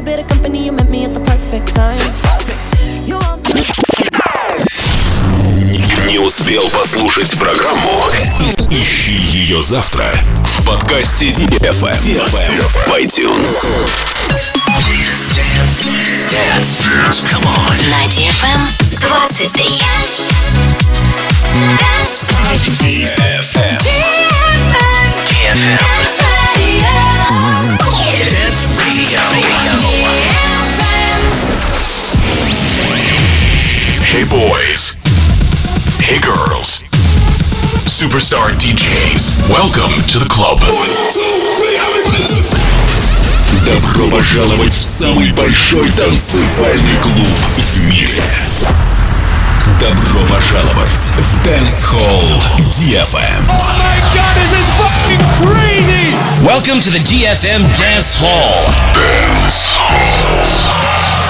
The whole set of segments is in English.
bit of company, you met me at the perfect time. You are... Не успел послушать программу? Ищи ее завтра в подкасте DFM в iTunes. Dance. Come on. На DFM 23. DFM. Dance Radio. Dance Radio. Hey boys. Hey girls. Superstar DJs. Welcome to the club. Добро пожаловать в самый большой танцевальный клуб в мире. Добро пожаловать в Dance Hall DFM. Oh my god, this is fucking crazy! Welcome to the DFM Dance Hall. Dance Hall.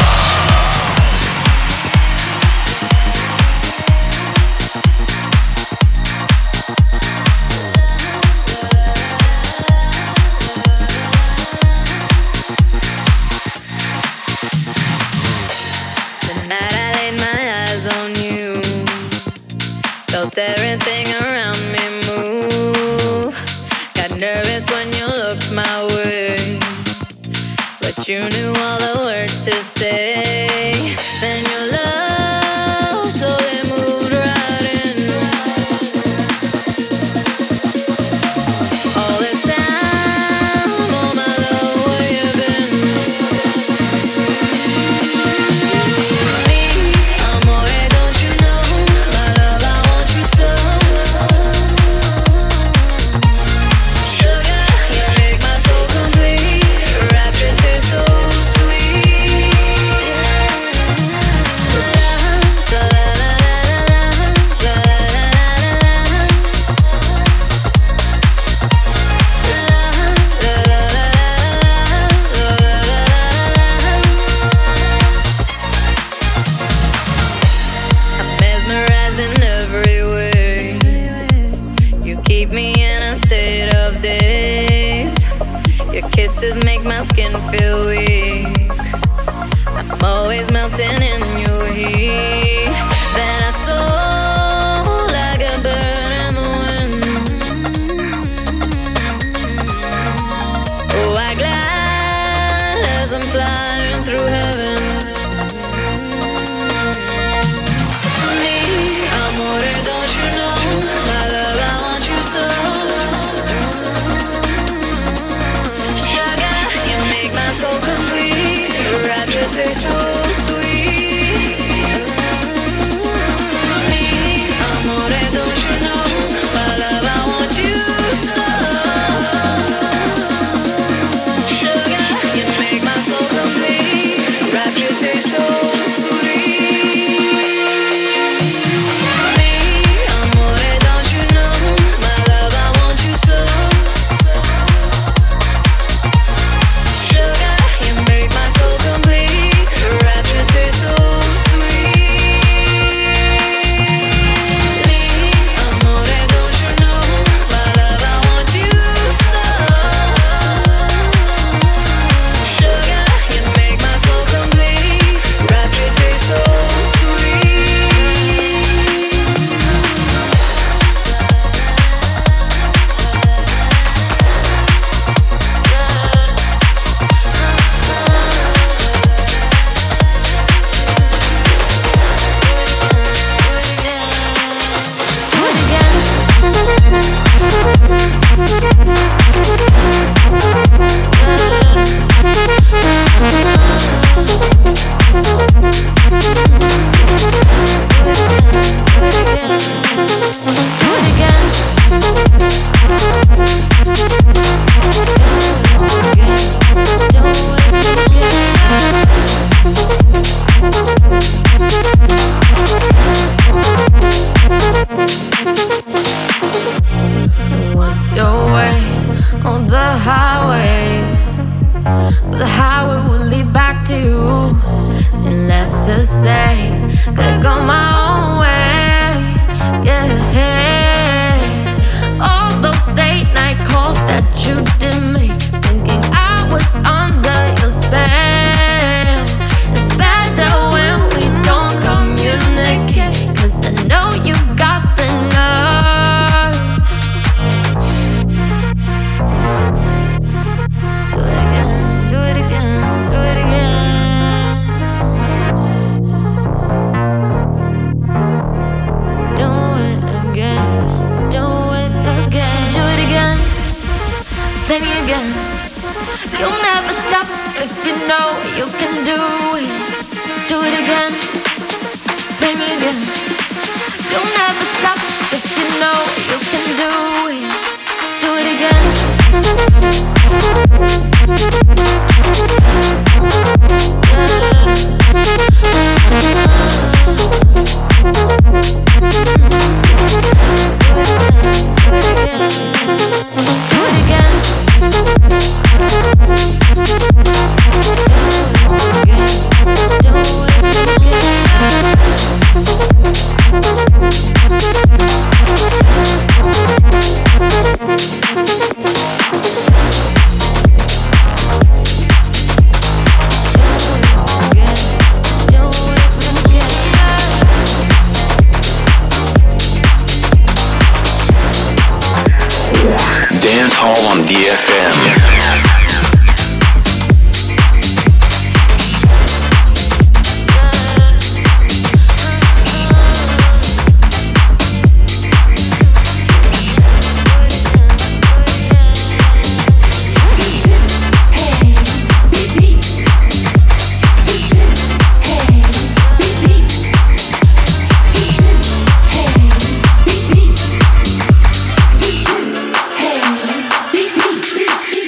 Everything around me move. Got nervous when you looked my way, but you knew all the words to say. Then your love slowly moved right in. All this time, oh my love, where you been? Me, amore, don't you know? My love, I want you so. Sugar, you make my soul complete. Rapture tastes so sweet. La, la, la, la, la, la, I'm mesmerized in every way. You keep me in a state of daze. Your kisses make my skin feel weak. I'm always melting in your heat. Then I soar like a bird in the wind. Oh, I glide as I'm flying through heaven. Me, amore, don't you know? My love, I want you so. Sugar, you make my soul complete. Rapture tastes so sweet. Me, amore, don't you know? My love, I want you so. Sugar, you make my soul complete. Rapture tastes so sweet. Me, amore, don't you know? My love, I want you so. Sugar, you make my soul complete. Rapture tastes so sweet. Me, amore, don't you know? My love, I want you so. Sugar, you make my soul complete. Rapture tastes so sweet. What's your way on the highway? But the highway will lead back to you. And less to say, could go my own way. Yeah. All those late night calls that you did make, thinking I was under your spell. You'll never stop if you know you can do it. Do it again, play me again. You'll never stop if you know you can do it. Do it again. Dance Hall on DFM. Beep, beep, beep, beep.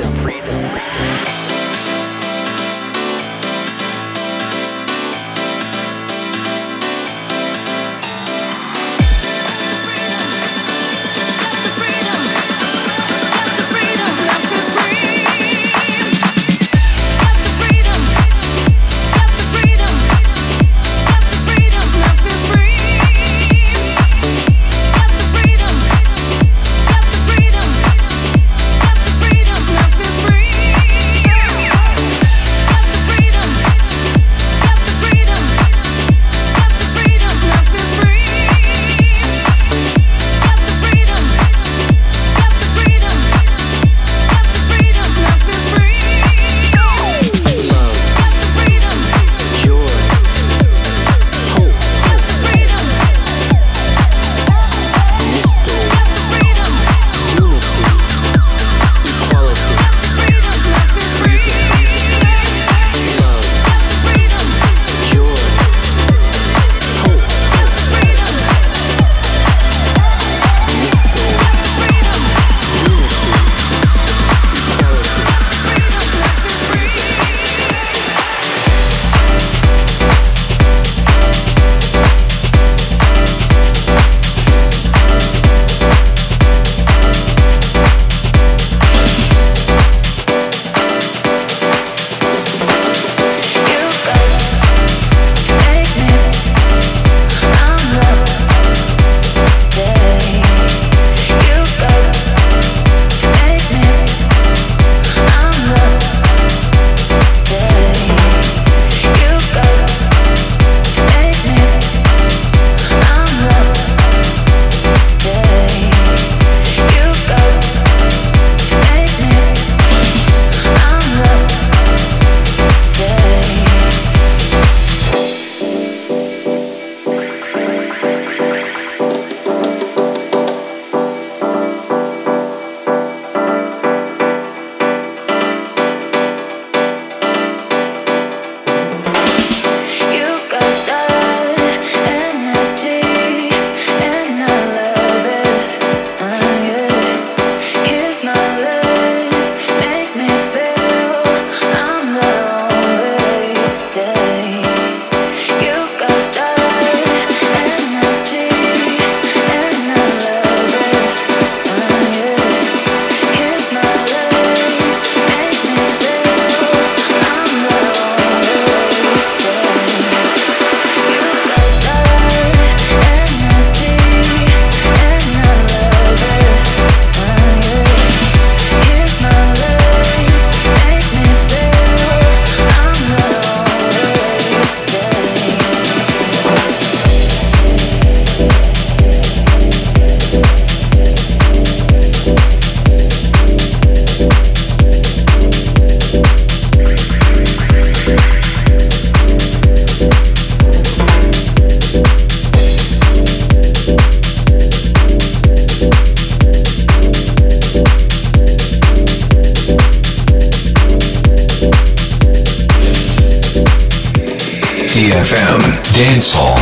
DFM Dance Hall.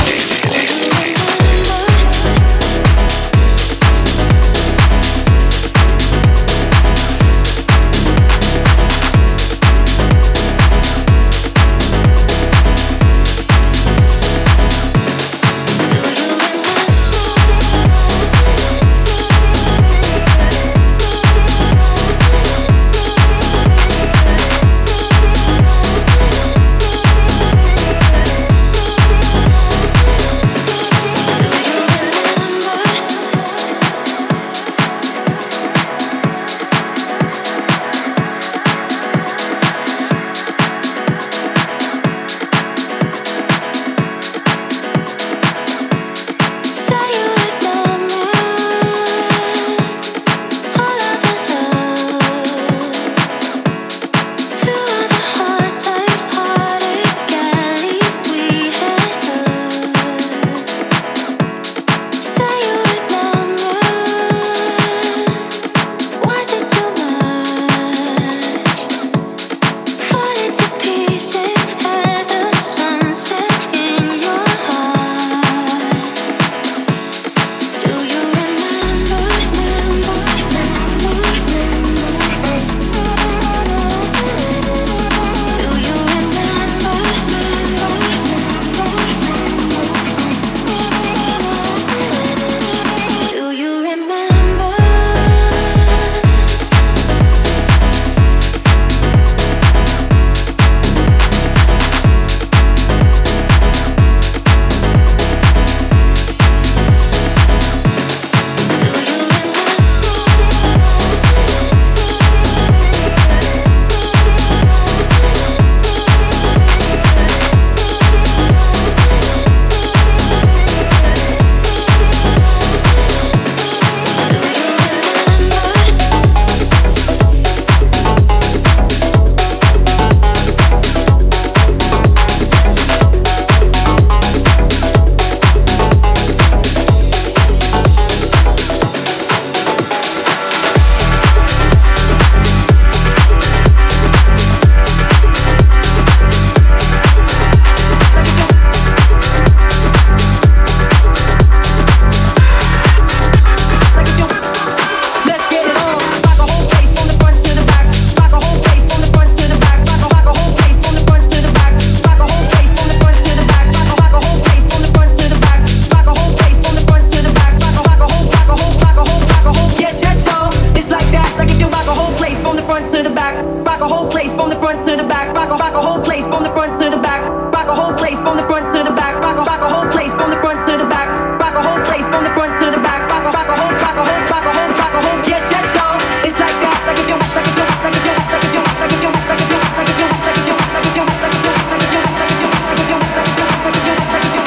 rock a whole place from the front to the back. Rock a whole place from the front to the back. Rock a whole place from the front to the back. Rock a whole place from the front to the back. Rock a whole. Yes, yes, so it's like that. Like if you, like if you, like if you, like if you, like if you, like if you, like if you, like if you, like if you, like if you, like if you, like if you, like if you, like if you, like if you, like if you, like if you.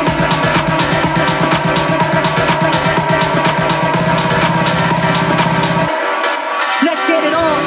Let's get it on.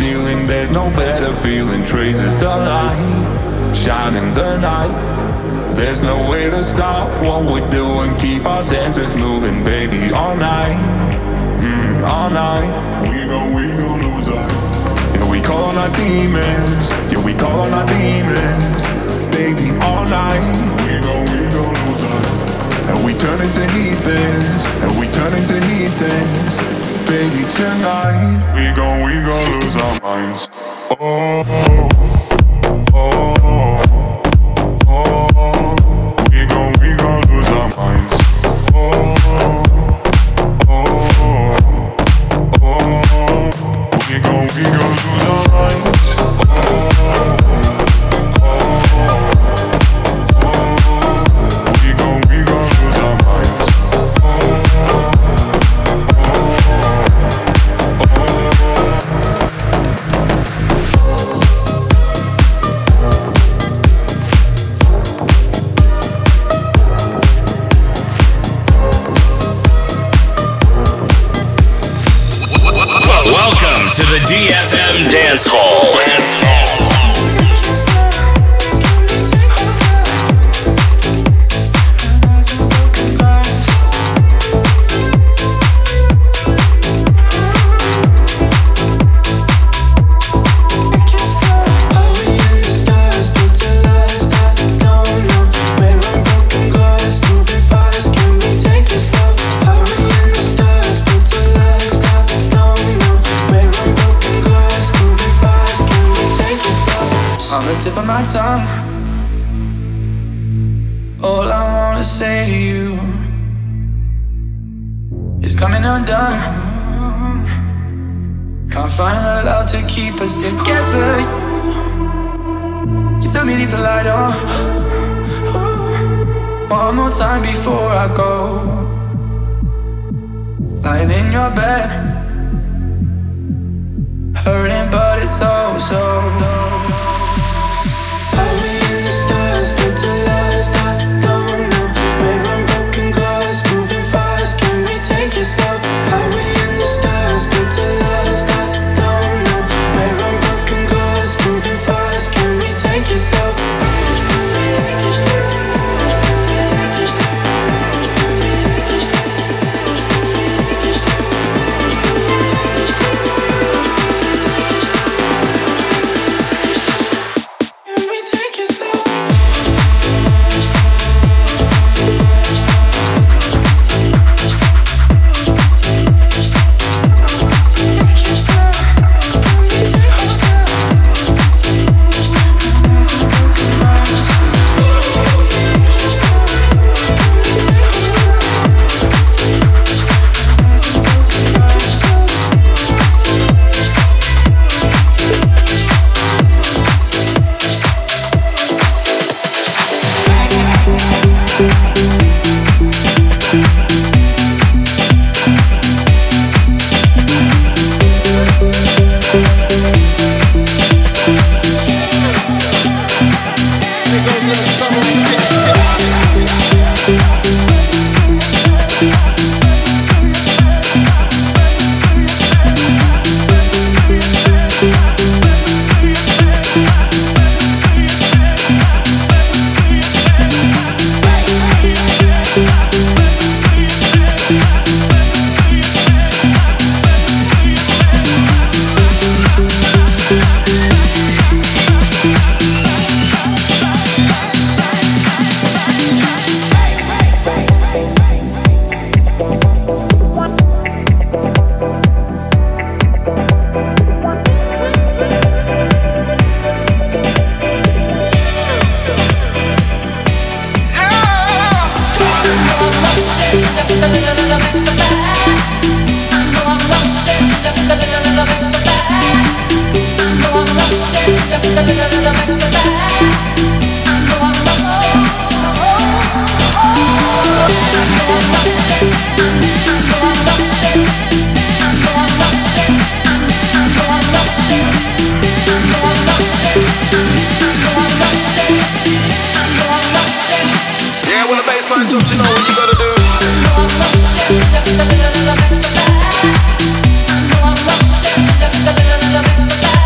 ceiling, there's no better feeling. Traces of light shine in the night. There's no way to stop what we're doing. Keep our senses moving, baby, all night. All night. We gon' lose our. Yeah, we call on our demons. Yeah, we call on our demons. Baby, all night. We gon' lose our. And we turn into heathens. And we turn into heathens. Baby, tonight. We gon' lose our minds. Oh, oh, oh. We gon' lose our minds. Oh, oh, oh. We gon' lose our minds. Oh, oh, oh. We gon' lose our minds. Welcome to the DFM Dance Hall. Tip of my tongue. All I wanna say to you is coming undone. Can't find the love to keep us together. You tell me leave the light on one more time before I go. Lying in your bed, hurting but it's oh so. Just a little bit.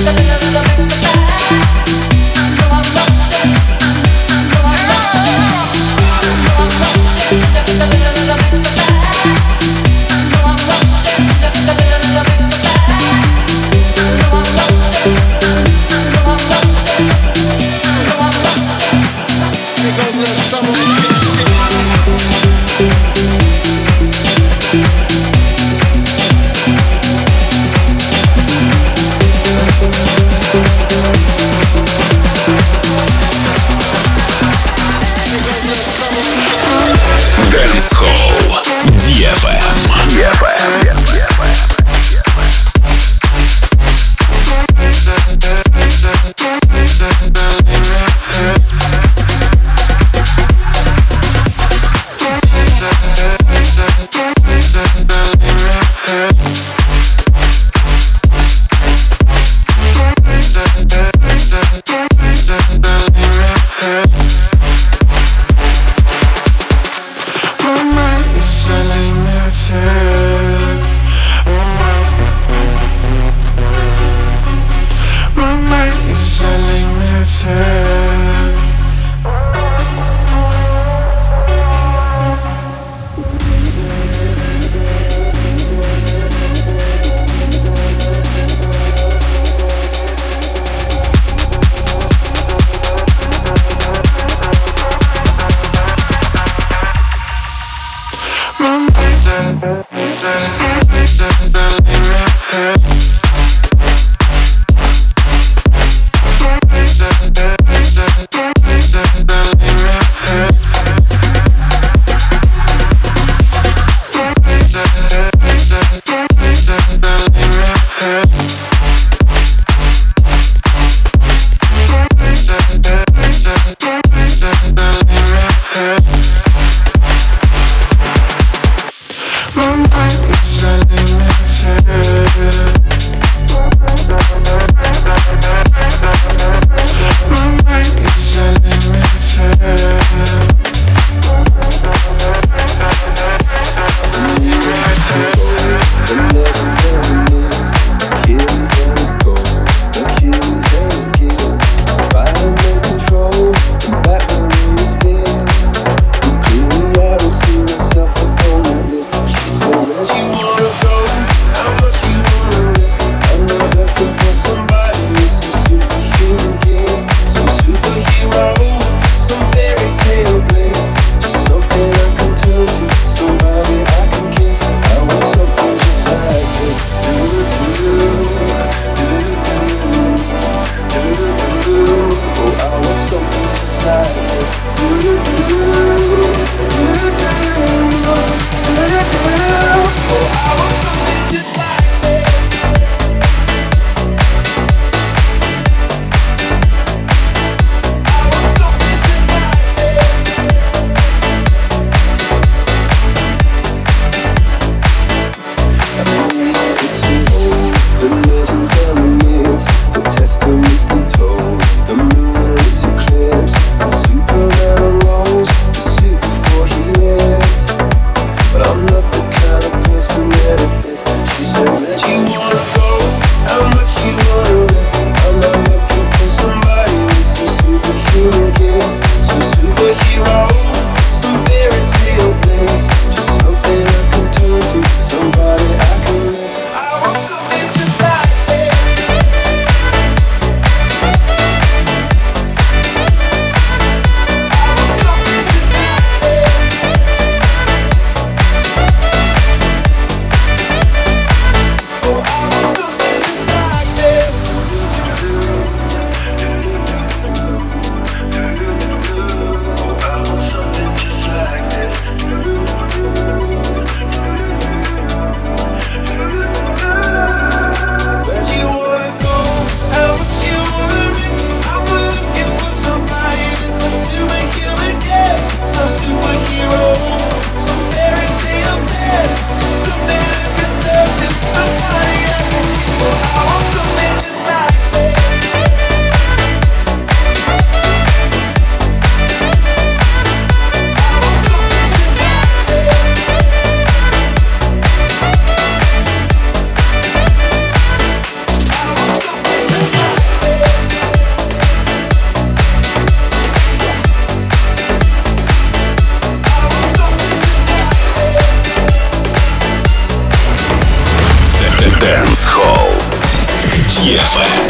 I'm not the kind of person that it fits. Hall. DFM.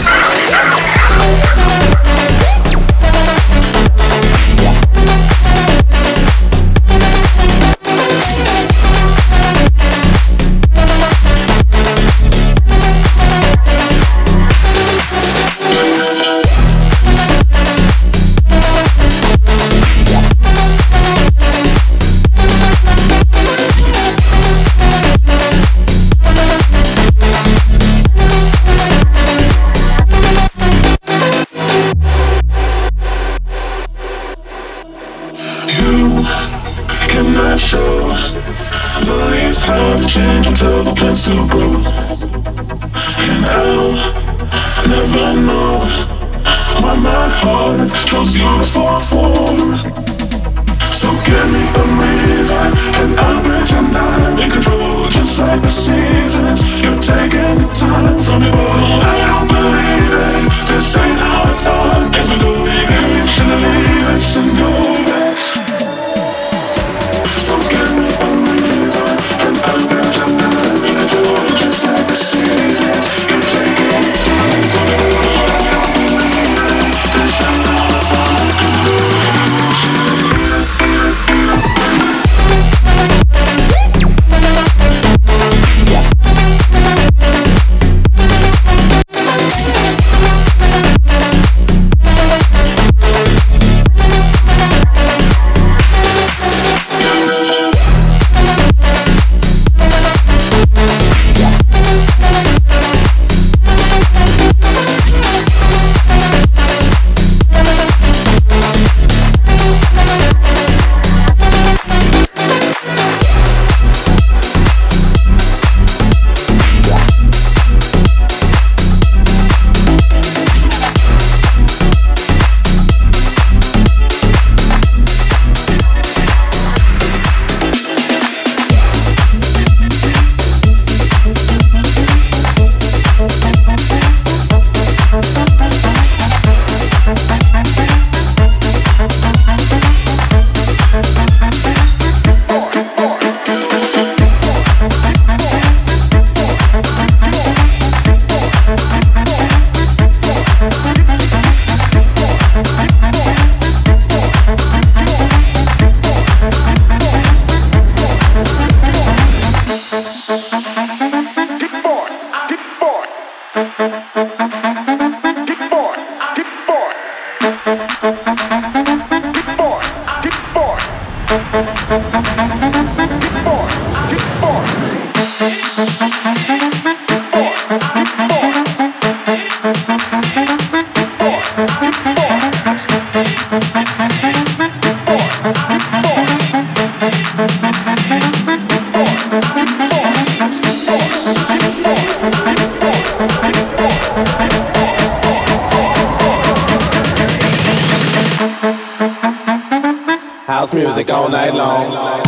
Until the plants to grow, and I'll never know why my heart chose you to fall for. So give me a reason, and I'll bet you're not in control. Just like the seasons, you're taking the time from me. Oh, I don't believe it. This ain't how I thought. As we go, baby, we shouldn't leave it and go back. So give me a reason, and I'll bet you're not. Just like the seasons, you're taking the time from me. I don't believe it. This ain't how I thought. House music all night long.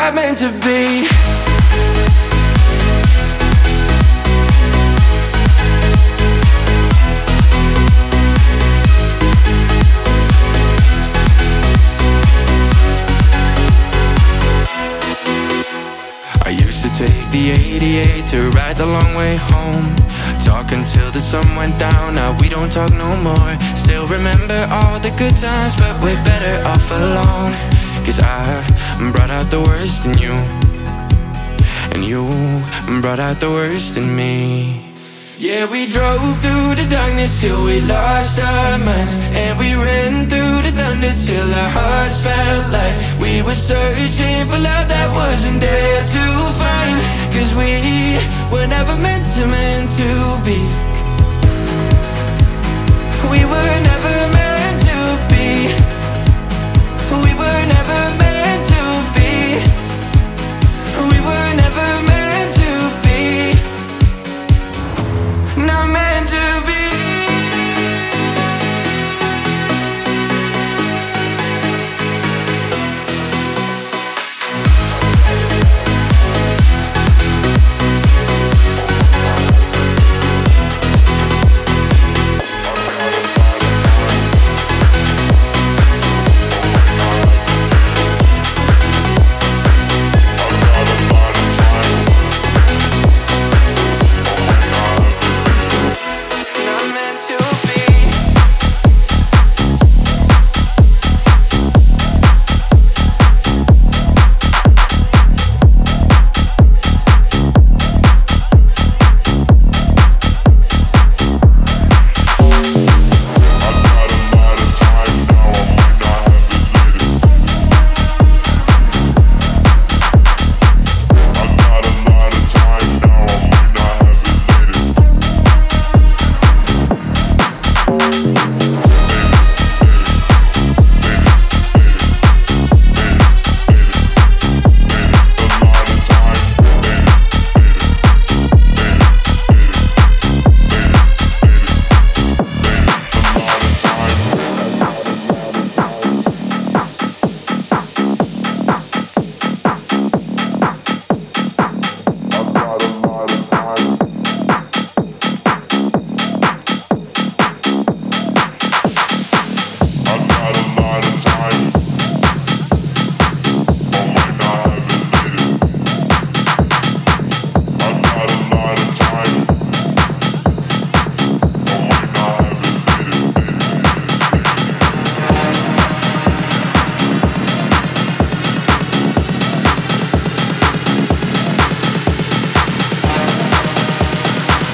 not meant to be. I used to take the 88 to ride the long way home. Talk until the sun went down, now we don't talk no more. Still remember all the good times, but we're better off alone. Cause I brought out the worst in you, and you brought out the worst in me. Yeah, we drove through the darkness till we lost our minds, and we ran through the thunder till our hearts felt like we were searching for love that wasn't there to find. Cause we were never meant to be. We were never meant to be. We were never meant to be. We were never meant to be. Not meant to be.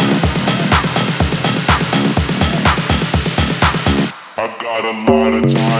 I got a lot of time.